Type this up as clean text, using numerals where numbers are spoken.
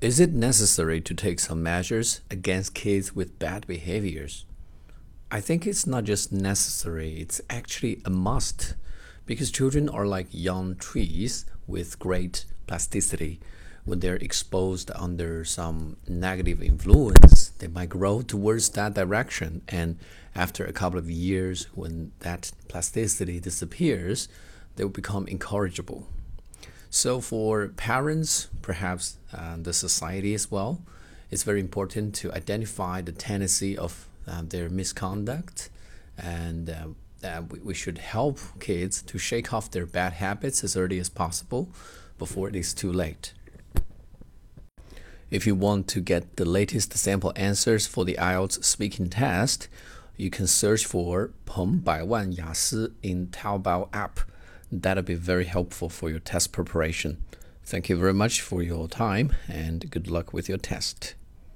Is it necessary to take some measures against kids with bad behaviors? I think it's not just necessary, it's actually a must. Because children are like young trees with great plasticity. When they're exposed under some negative influence, they might grow towards that direction. And after a couple of years, when that plasticity disappears, they will become incorrigible. So, for parents, perhaps the society as well, it's very important to identify the tendency of their misconduct, and we should help kids to shake off their bad habits as early as possible before it is too late. If you want to get the latest sample answers for the IELTS speaking test, you can search for 彭百万雅思 in Taobao app. That'll be very helpful for your test preparation. Thank you very much for your time and good luck with your test.